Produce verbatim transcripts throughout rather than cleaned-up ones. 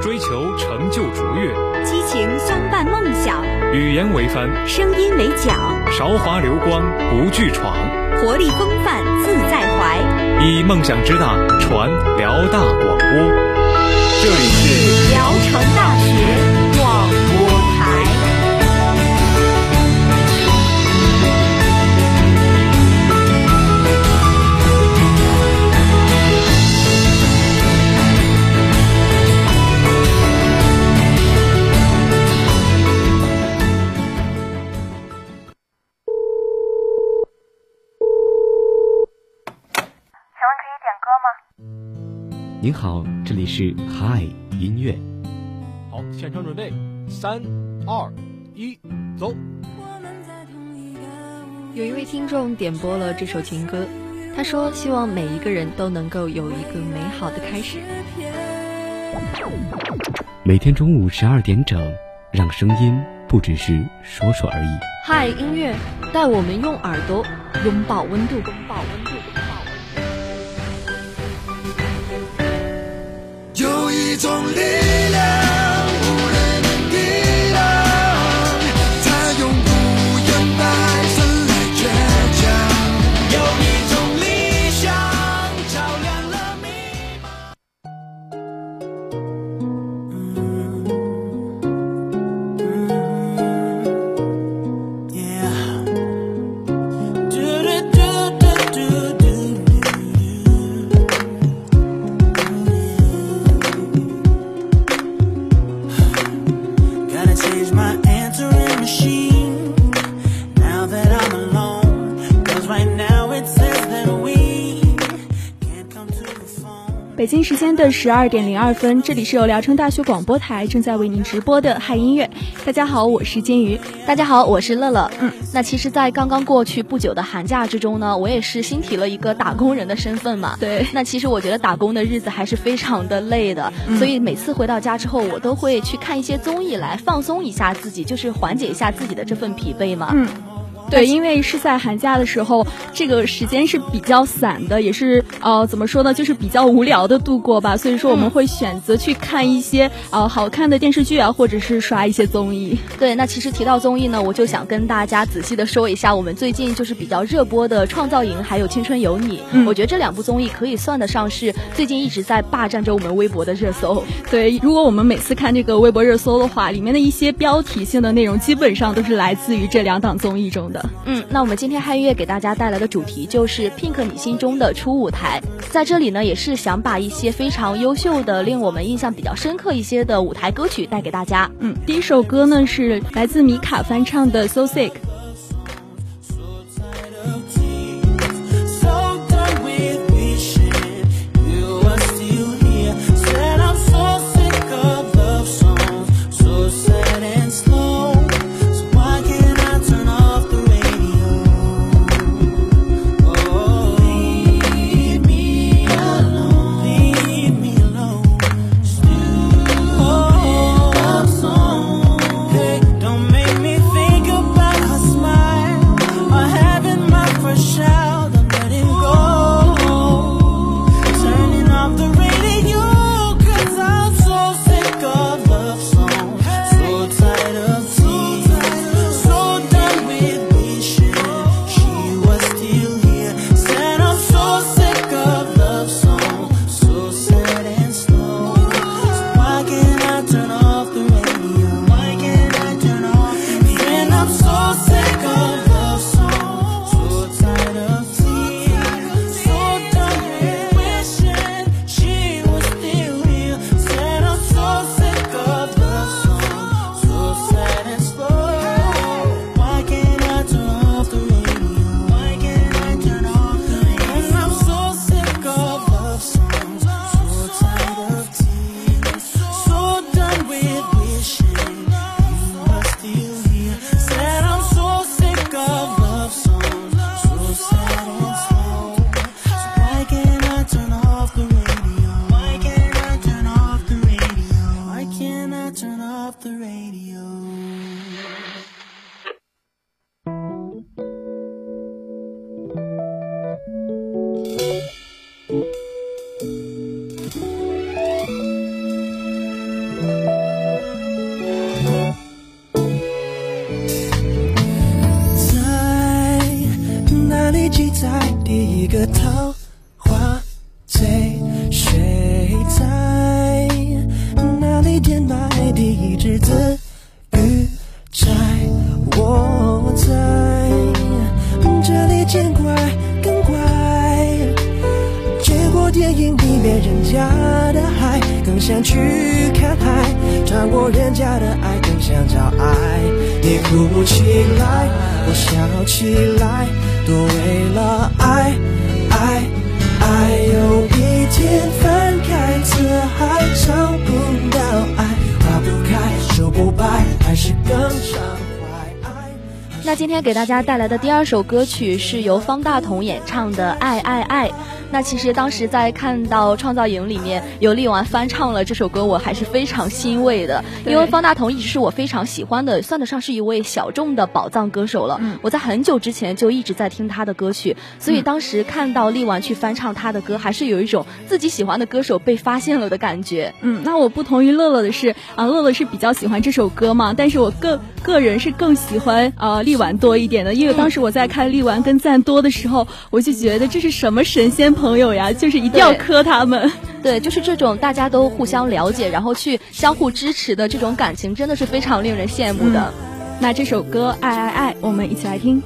追求成就卓越， 激情相伴梦想， 语言为帆， 声音为桨， 韶华流光不惧闯， 活力风范自在怀， 以梦想之大传辽大广播。这里是聊城大学广播台。 您好，这里是嗨音乐。 好，现场准备，三二一，走。 有一位听众点播了这首情歌，他说希望每一个人都能够有一个美好的开始。 每天中午十二点整，让声音不只是说说而已。 嗨音乐，带我们用耳朵拥抱温度，拥抱温度。 有一种力量无人能抵挡，它永不言败，生来倔强。有一种理想照亮了迷北京时间的十二点零二分，这里是由聊城大学广播台正在为您直播的嗨音乐。大家好，我是金鱼。 大家好，我是乐乐。嗯，那其实在刚刚过去不久的寒假之中呢，我也是新提了一个打工人的身份嘛。 对， 那其实我觉得打工的日子还是非常的累的，嗯、所以每次回到家之后，我都会去看一些综艺来放松一下自己，就是缓解一下自己的这份疲惫嘛。 嗯。对，因为是在寒假的时候，这个时间是比较散的，也是呃怎么说呢，就是比较无聊的度过吧。所以说我们会选择去看一些呃好看的电视剧啊，或者是刷一些综艺。 对，那其实提到综艺呢，我就想跟大家仔细的说一下，我们最近就是比较热播的《创造营》还有《青春有你》。嗯，我觉得这两部综艺可以算得上是最近一直在霸占着我们微博的热搜。 对，如果我们每次看这个微博热搜的话，里面的一些标题性的内容基本上都是来自于这两档综艺中的。 嗯，那我们今天嗨音乐给大家带来的主题就是 Pink 你心中的初舞台。在这里呢，也是想把一些非常优秀的令我们印象比较深刻一些的舞台歌曲带给大家。 嗯，第一首歌呢是来自米卡翻唱的 So Sick。 Don't make me think about 一个桃花醉，睡在哪里填埋第一只字语在我在这里见怪更怪，结果电影里面人家的海更想去看海，穿过人家的爱更想找爱。你哭起来我笑起来，都为了爱爱爱。有一天翻开字还找不到爱，花不开树不白，还是更伤怀爱。 那今天给大家带来的第二首歌曲是由方大同演唱的《爱爱爱》。那其实当时在看到创造营里面有力丸翻唱了这首歌，我还是非常欣慰的，因为方大同一直是我非常喜欢的，算得上是一位小众的宝藏歌手了。嗯、我在很久之前就一直在听他的歌曲，所以当时看到力丸去翻唱他的歌，还是有一种自己喜欢的歌手被发现了的感觉。 嗯，那我不同于乐乐的是啊，乐乐是比较喜欢这首歌嘛，但是我个个人是更喜欢呃力丸多一点的，因为当时我在看力丸跟赞多的时候，我就觉得这是什么神仙朋友呀，就是一定要磕他们。 对，就是这种大家都互相了解，然后去相互支持的这种感情，真的是非常令人羡慕的。嗯、 那这首歌《爱爱爱》，我们一起来听。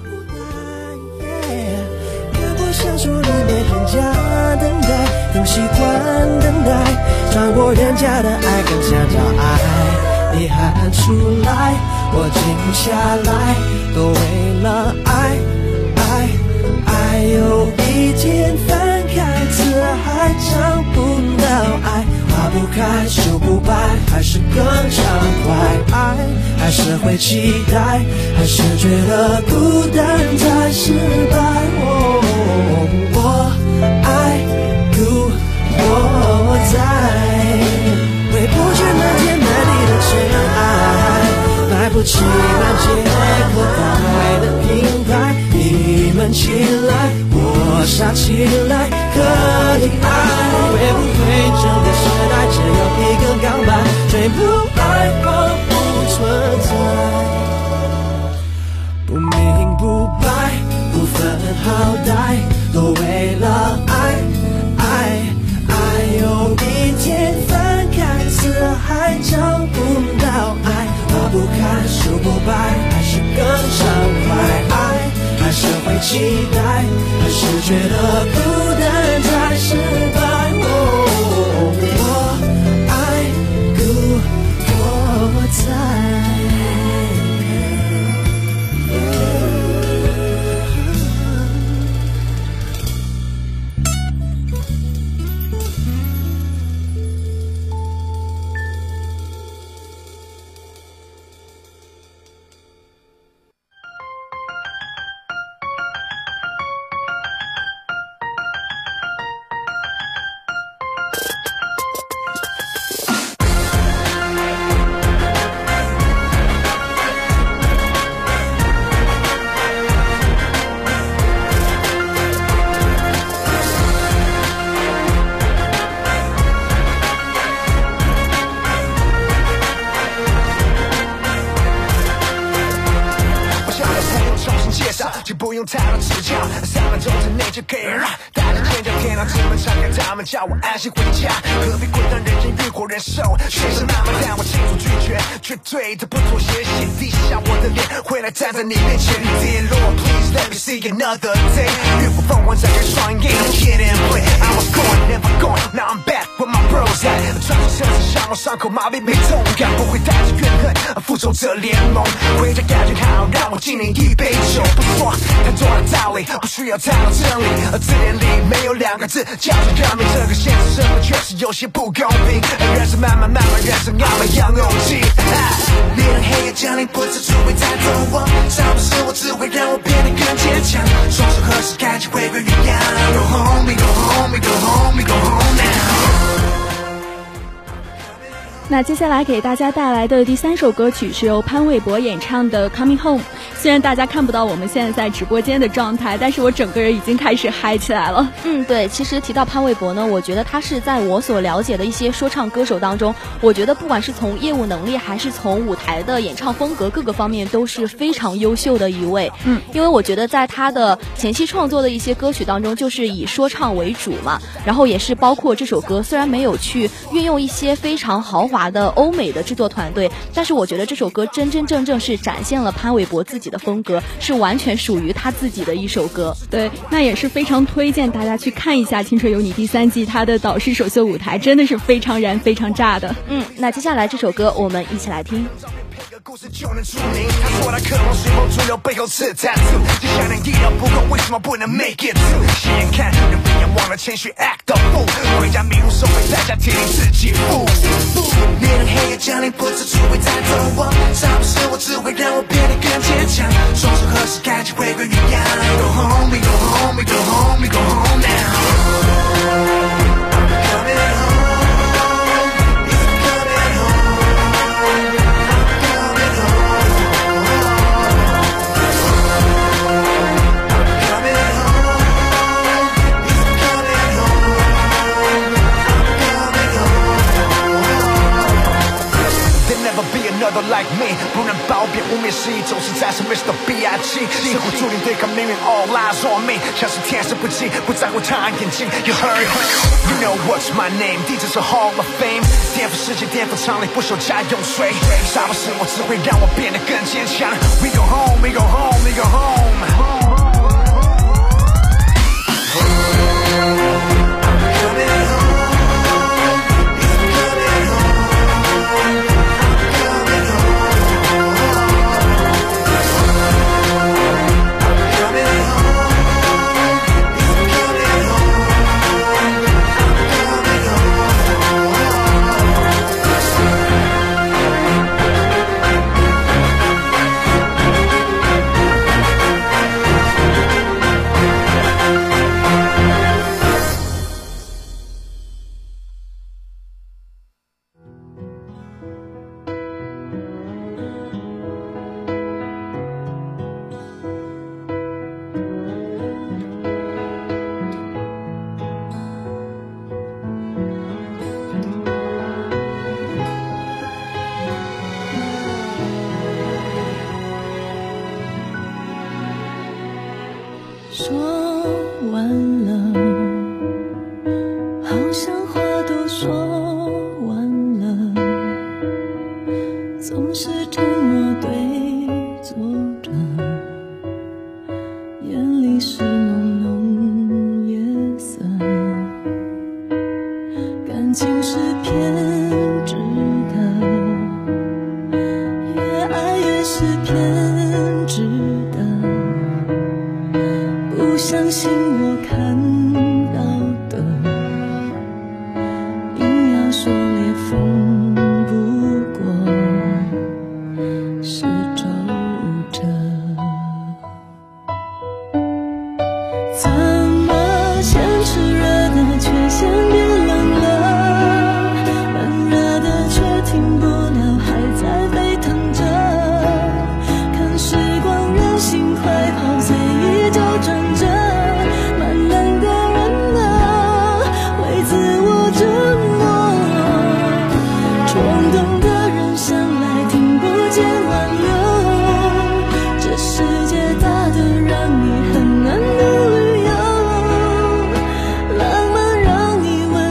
看过小说里面人家等待，更喜欢等待，穿过人家的爱，更想找爱。你喊出来，我静下来，都为了爱爱爱。有一天翻开字还找不到爱，花不开树不白，还是更畅快。爱还是会期待，还是觉得孤单才失败。哦，我爱故我在，回不去漫天满地的尘埃，买不起满街可爱的品牌。你们起来，我傻起来，可以爱。会不会整个时代只有一个港版，最不爱或不存在，不明不白，不分好歹，都为了爱爱爱。有一天翻开字还找不到爱，花不开树不白，还是更畅快。爱还是会期待，还是觉得孤单才失败。哦，我爱故我在。 不用太多指教，三分钟之内就可以让大家尖叫，天亮之门敞开，他们叫我安心回家。何必困难人间欲火人寿，学生那么但我清楚拒绝，绝对的不妥协，写低下我的脸，回来站在你面前。Dear Lord, please let me see another day。浴火凤凰展开双眼 ，Hit and play。I was going, never going, now I'm back with my bros at。穿着绳子伤我伤口，麻痹没痛感，不会带着怨恨，复仇者联盟。回家感觉好，让我敬你一杯酒，不说太多的道理，不需要太多真理，而字典里没有两个字叫做革命。这个现实生活确实有些不公平，人生慢慢慢慢，人生要么要勇气。你让黑夜降临，不知只会带走我，伤不是我，只会让我变得更坚强。双手合十，感情回归原样。Go home, go home, go home, go home now。 那接下来给大家带来的第三首歌曲是由潘玮柏演唱的《Coming Home》。虽然大家看不到我们现在在直播间的状态，但是我整个人已经开始嗨起来了。 嗯，对，其实提到潘玮柏呢，我觉得他是在我所了解的一些说唱歌手当中，我觉得不管是从业务能力还是从舞台的演唱风格各个方面都是非常优秀的一位。 嗯， 因为我觉得在他的前期创作的一些歌曲当中，就是以说唱为主嘛，然后也是包括这首歌虽然没有去运用一些非常豪华的欧美的制作团队，但是我觉得这首歌真真正正是展现了潘玮柏自己的风格，是完全属于他自己的一首歌。 对，那也是非常推荐大家去看一下《青春有你》第三季，他的导师首秀舞台真的是非常燃非常炸的。 嗯，那接下来这首歌我们一起来听。 故事就能出名，他说他渴望随波逐流，背后是 tattoo， 就想能一了不够，为什么不能 make it through？ 斜眼看人不眼忘了谦虚 act the fool， 回家迷路收回代价，铁定自己负。别人黑夜降临，不知出会带走我，杀不是我，只会让我变得更坚强。双手合十，感情回归原样。Go home, we go home, we go home, we go home now。Another like me， 不能褒贬污蔑是一种实在是 Mister B I G， 令狐注定对抗命运 ，All eyes on me， 像是天使不羁，不在乎他人眼睛。You heard it， You know what's my name， 地址是 Hall of Fame， 颠覆世界，颠覆常理，不守家用水。杀不是我，只会让我变得更坚强。We go home, we go home, we go home。 说完了，好像话都说完了，总是沉默对坐着，眼里是浓浓夜色，感情是偏执的，越爱越是偏执的，不相信我看到的，硬要说裂缝不过是皱褶，怎么先炽热的却先变冷了，冷热的却停不了，还在沸腾着，看时光任性快跑，随意就转着，蛮冷的人啊，为自我折磨，冲动的人向来听不见挽留，这世界大得让你很难的旅游，浪漫让你温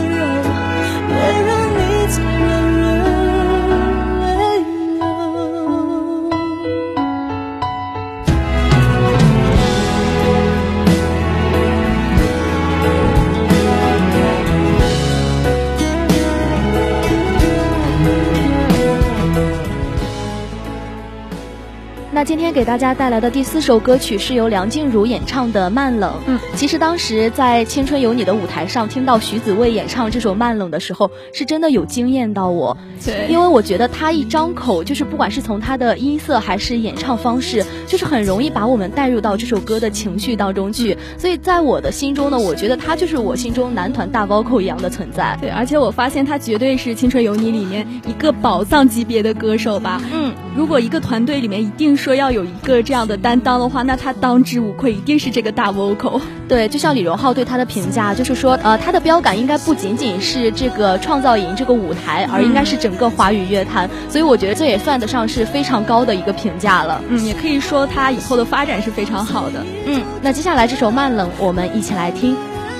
那今天给大家带来的第四首歌曲是由梁静茹演唱的《慢冷》。 嗯， 其实当时在《青春有你》的舞台上听到徐子未演唱这首《慢冷》的时候，是真的有惊艳到我。 对， 因为我觉得她一张口，就是不管是从她的音色还是演唱方式，就是很容易把我们带入到这首歌的情绪当中去。嗯、所以在我的心中呢，我觉得她就是我心中男团大 vocal 一样的存在。 对，而且我发现她绝对是《青春有你》里面一个宝藏级别的歌手吧。 嗯， 如果一个团队里面一定说要有一个这样的担当的话，那他当之无愧一定是这个大 vocal。 对，就像李荣浩对他的评价就是说，呃，他的标杆应该不仅仅是这个创造营这个舞台，而应该是整个华语乐坛、嗯、所以我觉得这也算得上是非常高的一个评价了。 嗯，也可以说他以后的发展是非常好的。 嗯，那接下来这首《慢冷》我们一起来听。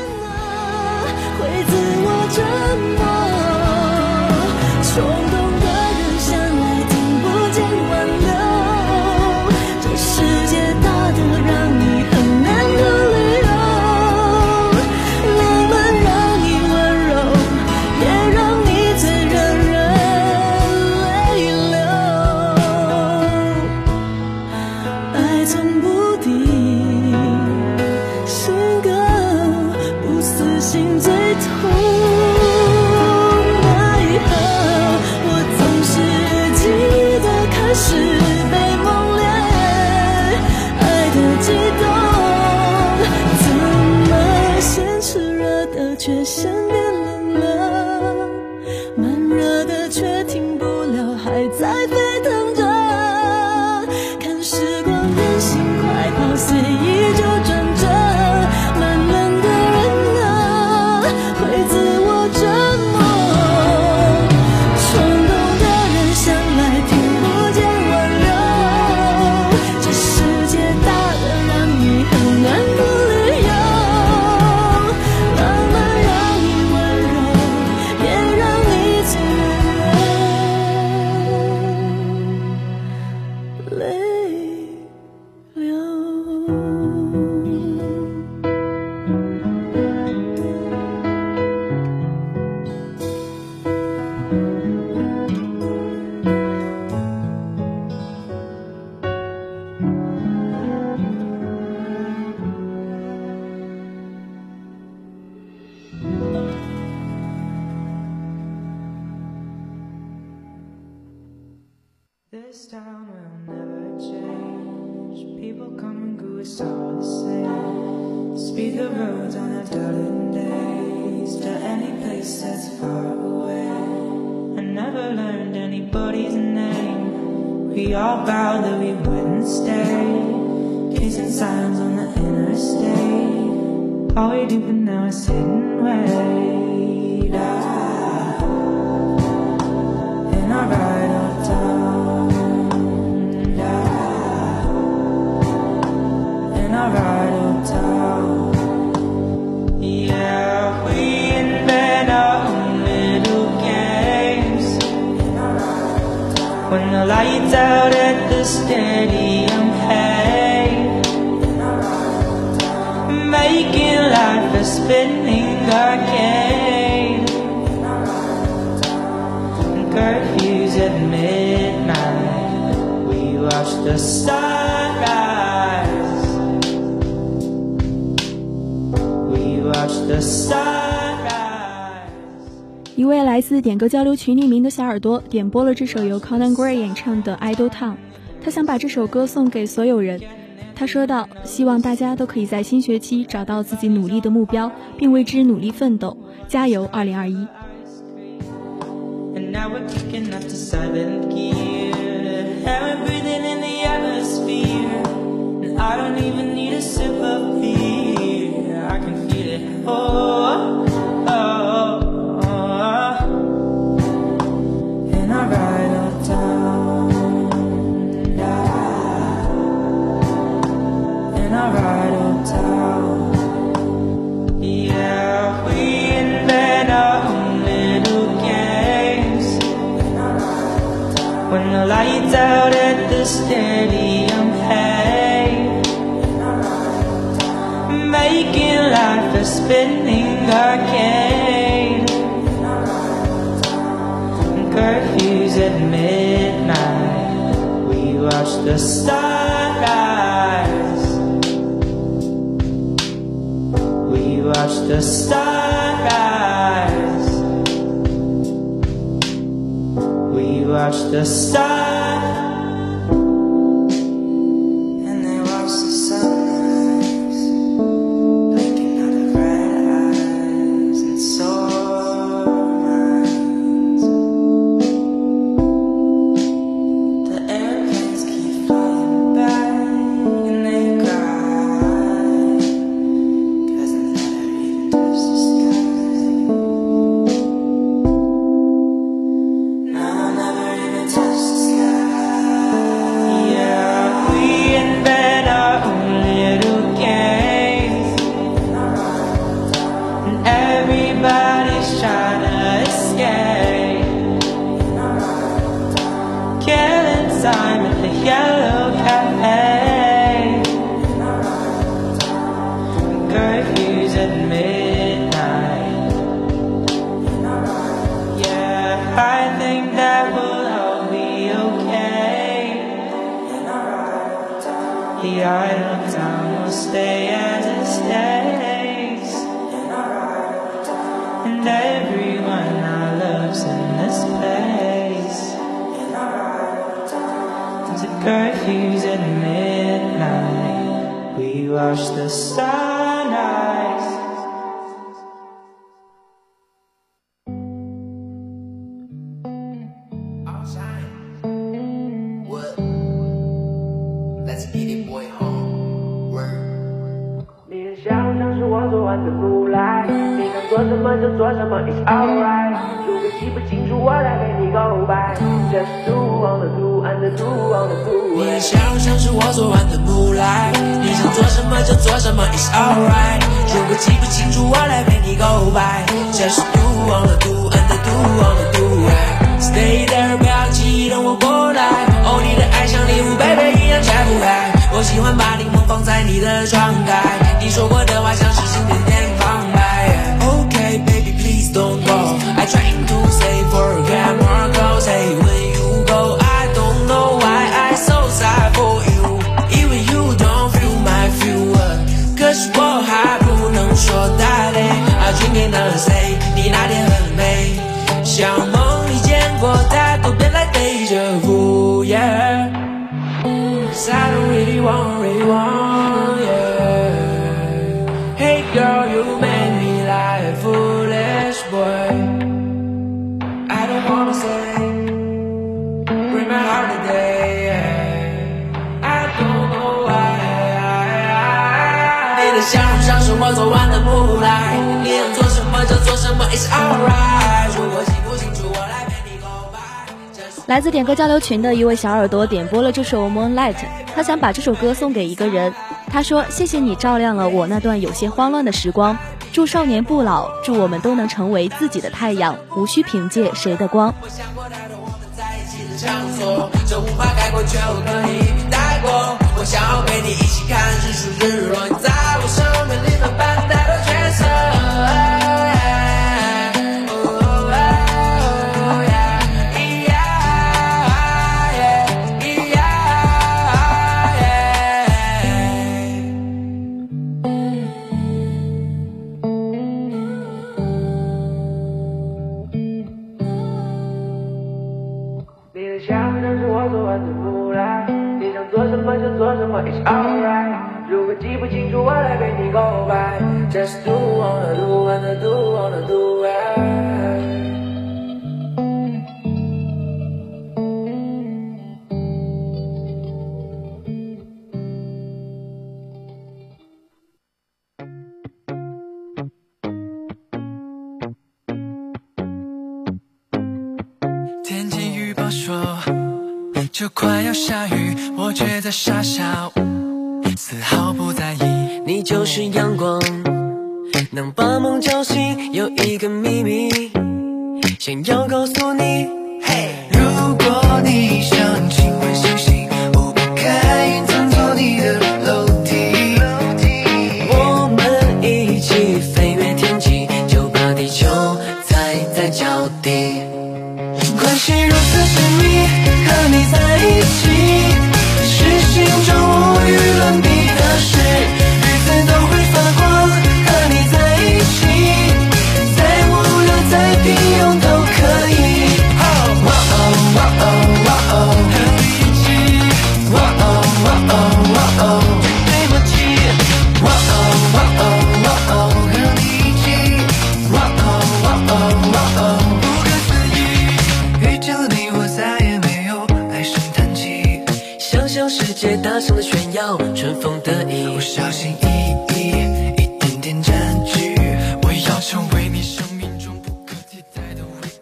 会自我折磨，冲动的人向来听不见挽留，这世界大的让你很难的理由，浪漫让你温柔，也让你最让人泪流，爱从不敌，性格不死心最痛。奈何我总是记得开始被梦恋，爱的激动，怎么先炽热的却先变冷了，慢热的却停不了，还在沸腾着，看时光任性快跑，随意就转折，慢冷的人啊，会自我折磨，冲动的人向来听不见挽留，这世界大的让你很难不理由，浪漫让你温柔，也让你最让人泪流。 This town will never change. People come and go, it's all the same. Speed the roads on a dull days to any place that's far away. I never learned anybody's name. We all vowed that we wouldn't stay. Kissing signs on the interstate. All we do for now is sit and wait. Ah, in our ride uptown. Right uptown, yeah, we invent our own little games. When the lights out at the stadium, hey, making life a spinning arcade. Curfews at midnight, we watch the sunrise. The sunrise. 一位来自点歌交流群匿名的小耳朵点播了这首由 Conan Gray 演唱的 Idle Town， 他想把这首歌送给所有人。他说道，希望大家都可以在新学期找到自己努力的目标，并为之努力奋斗，加油二零二一。 Oh, oh, oh, oh. And I ride uptown, yeah. And I ride uptown, yeah. We invent our own little games. When the lights out at the stadium, hey, making life a spinning arcade. Curfews at midnight, we watch watch the sunrise. We watch the sunrise. We watch the sun. And they watch the sunrise, blinking out of red eyes and sore minds. The airplanes keep flying by and they cry, 'cause they never even touch the sky. No, never even touch the sky. Yeah, we invent our own little games, and everybody's trying to escape. Killing time at the Yellow Cafe. Curfews at midnight. Yeah, I think that will all be okay. The idle town will stay as it stays, and everyone I love's in this place. The curfews at midnight. We watch the sunrise. What? Let's get it, boy, home. Word. 你很想像是我昨晚的木来，你想做什么就做什么 ，It's alright。如果记不清楚，我来陪你告白。Just do on the do and the do on the do。 你很想像是我昨晚的木来，你想做什么就做什么 ，It's alright。如果记不清楚，我来陪你告白。Just do on the do and the do on the do。Stay there， 不要急，等我过来。哦，你的爱像礼物，贝贝一样拆不开。我喜欢把柠檬放在你的窗台，你说过的话像是心点点旁白。Okay, baby, please don't go. I trying to say forget more close. Hey, when you go, I don't know why I so sad for you. Even you don't feel my feel. 可是我还不能说大累。I drink another say， 你那天很美，像梦里见过，但都变来deja vu. Yeah. Cause I don't really want, really want, yeah. Hey girl, you made me like a foolish boy. I don't wanna say, break my heart today, yeah. I don't know why. 你的笑容像是我昨晚的木来，你想做什么就做什么 ，It's alright。如果记不清楚，我来陪你告白。 来自点歌交流群的一位小耳朵点播了这首 Moonlight， 他想把这首歌送给一个人。他说：“谢谢你照亮了我那段有些慌乱的时光，祝少年不老，祝我们都能成为自己的太阳，无需凭借谁的光。” 我想过太多我们在一起的场所，这无法概括，却我可以一笔带过。我想要陪你一起看日出日落，你在我生命里面扮演的角色。It's alright， 如果记不清楚，我来陪你告白。Just do wanna do wanna do wanna do it。 天气预报说就快要下雨，我却在傻笑，丝毫不在意。 你就是阳光，能把梦叫醒。有一个秘密，想要告诉你。 嘿，如果你想亲吻星星，我不开云层做你的楼梯。 我们一起飞越天际，就把地球踩在脚底。 关系如此神秘，和你在一起，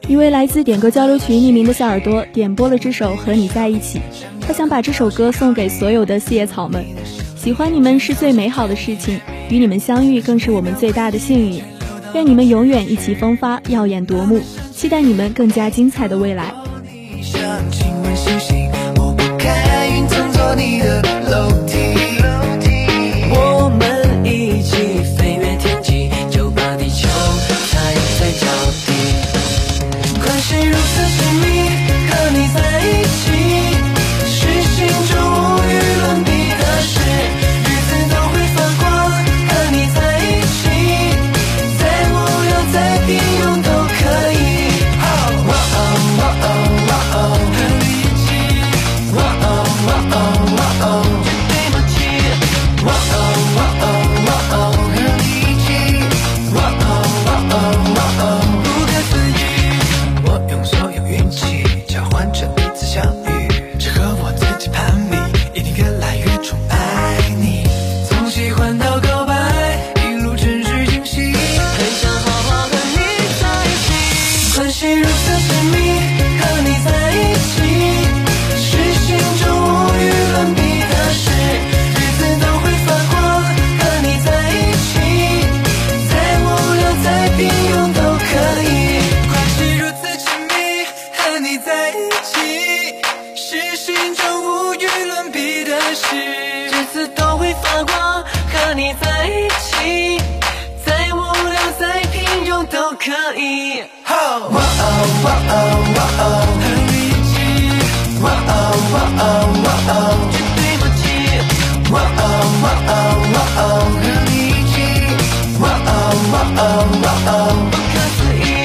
一位来自点歌交流群匿名的小耳朵点播了这首《和你在一起》，他想把这首歌送给所有的四叶草们。喜欢你们是最美好的事情，与你们相遇更是我们最大的幸运。愿你们永远意气风发，耀眼夺目，期待你们更加精彩的未来。 请问星星，我不看云层做你的楼梯， 我们一起飞越天际，就把地球踩在脚底。 关系如此亲密，和你在一起是心中无与伦比的事，日子都会发光，和你在一起再无聊再平庸都可以。哇哦哇哦哇哦，和你一起，哇哦哇哦哇哦，绝对默契。哇哦哇哦哇哦，和你一起，哇哦哇哦哇哦，不可思议。我用所有运气交换着彼此相遇，只和我自己攀比，一定越来越宠爱你。从喜欢到告白，一路真是惊喜， 很想好好和你在一起。 关系如此亲密，和你在一起是心中无与伦比的事，日子都会发光，和你在一起再无聊再平庸都可以。关系如此亲密，和你在一起是心中无与伦比的事，日子都会发光，和你在一起再无聊再平庸都可以。哇哦哇哦哇哦，和你一起，哇哦哇哦哇哦，绝对默契。哇哦哇哦哇哦，和你一起，哇哦哇哦哇哦，不可思议。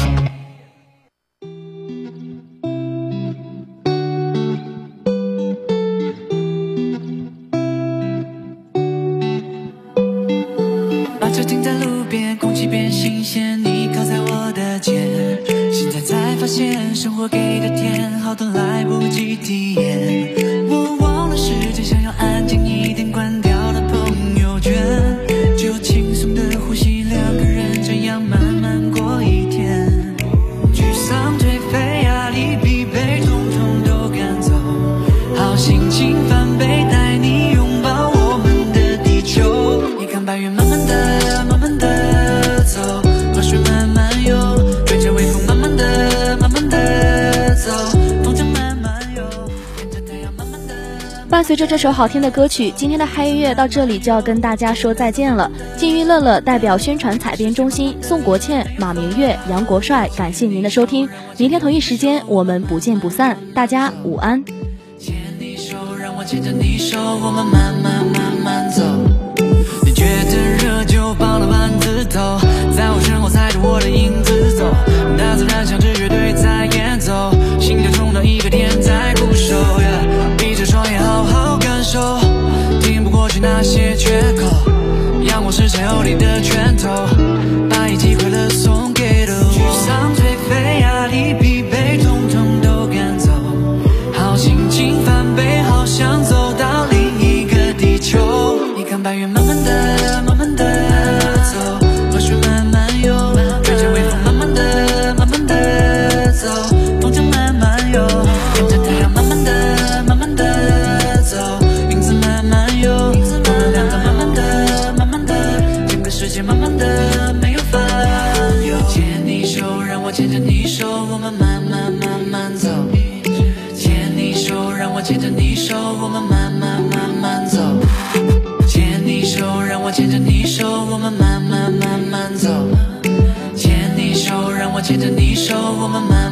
把车停在路边，空气变新鲜，你靠在我的肩，现在才发现生活给的甜，好多来不及体验。我忘了时间，想要安静一点，关掉了朋友圈，就轻松的呼吸，两个人这样慢慢过一天。沮丧颓废压力疲惫统统都赶走，好心情翻倍，带你拥抱我们的地球。你看白云慢慢的慢慢的走，河水慢慢游，追着微风慢慢的慢慢的走，风筝慢慢游，跟着太阳慢慢的。 伴随着这首好听的歌曲，今天的嗨音乐到这里就要跟大家说再见了。金鱼乐乐代表宣传采编中心宋国倩、马明月、杨国帅，感谢您的收听。明天同一时间我们不见不散，大家午安。 牵你手，让我牵着你手，我们慢慢慢慢走。你觉得热就抱了丸子头，在我身后踩着我的影子走，大自然像支乐队在演奏，心跳中的一个天在鼓手。闭着双眼好好感受，听不过去那些缺口，阳光是晒后你的拳头，把一季快乐送给都。沮丧颓废压力疲惫统统都赶走，好心情翻倍，好想走到另一个地球。你看白云慢慢的慢慢的走，河水慢慢游，追着微风慢慢的慢慢的走，风筝慢慢游，跟着太阳慢慢的慢慢的走，影子慢慢游，我们两个慢慢的慢慢的，整个世界慢慢的没有烦忧。牵你手，让我牵着你手，我们慢慢慢慢走。牵你手，让我牵着你手，我们慢慢慢慢走。牵你手，让我牵着你手，我们慢慢慢慢走。牵你手，让我牵着你手，我们慢慢